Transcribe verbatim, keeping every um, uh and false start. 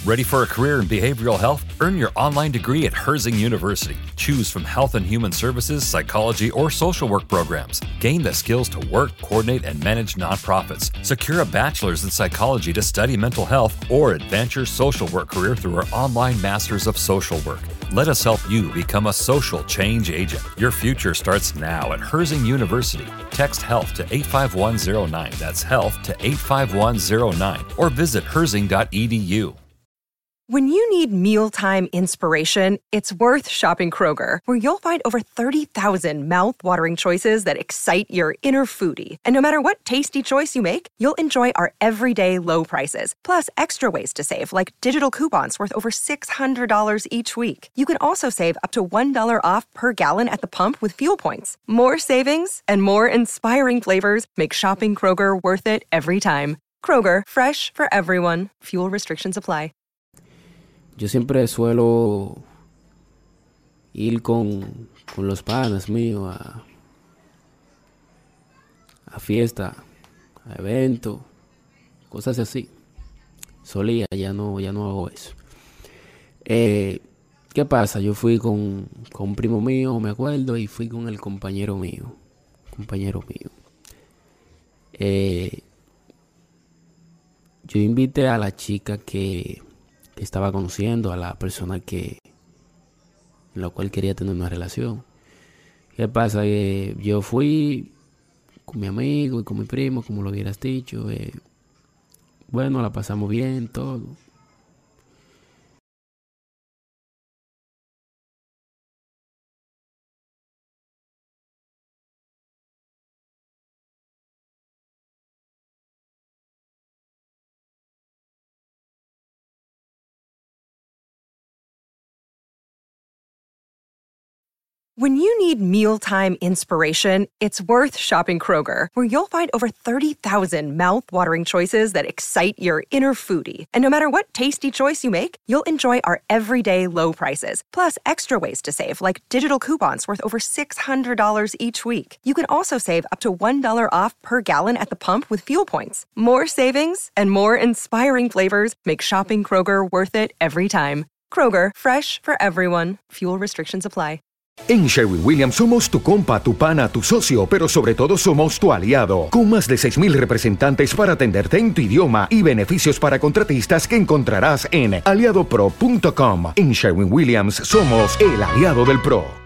Ready for a career in behavioral health? Earn your online degree at Herzing University. Choose from health and human services, psychology, or social work programs. Gain the skills to work, coordinate, and manage nonprofits. Secure a bachelor's in psychology to study mental health or advance your social work career through our online Masters of Social Work. Let us help you become a social change agent. Your future starts now at Herzing University. Text HEALTH to eight five one zero nine. That's HEALTH to eight five one zero nine. Or visit herzing dot e d u. When you need mealtime inspiration, it's worth shopping Kroger, where you'll find over thirty thousand mouth-watering choices that excite your inner foodie. And no matter what tasty choice you make, you'll enjoy our everyday low prices, plus extra ways to save, like digital coupons worth over six hundred dollars each week. You can also save up to one dollar off per gallon at the pump with fuel points. More savings and more inspiring flavors make shopping Kroger worth it every time. Kroger, fresh for everyone. Fuel restrictions apply. Yo siempre suelo ir con, con los panas míos a, a fiesta, a eventos, cosas así. Solía, ya no, ya no hago eso. Eh, ¿Qué pasa? Yo fui con, con un primo mío, me acuerdo, y fui con el compañero mío. Compañero mío. Eh, yo invité a la chica que... que estaba conociendo, a la persona que en la cual quería tener una relación. ¿Qué pasa? Que yo fui con mi amigo y con mi primo, como lo hubieras dicho. Eh, bueno, la pasamos bien, todo. When you need mealtime inspiration, it's worth shopping Kroger, where you'll find over thirty thousand mouth-watering choices that excite your inner foodie. And no matter what tasty choice you make, you'll enjoy our everyday low prices, plus extra ways to save, like digital coupons worth over six hundred dollars each week. You can also save up to one dollar off per gallon at the pump with fuel points. More savings and more inspiring flavors make shopping Kroger worth it every time. Kroger, fresh for everyone. Fuel restrictions apply. En Sherwin-Williams somos tu compa, tu pana, tu socio, pero sobre todo somos tu aliado, con más de seis mil representantes para atenderte en tu idioma y beneficios para contratistas que encontrarás en aliado pro punto com. En Sherwin-Williams somos el aliado del pro.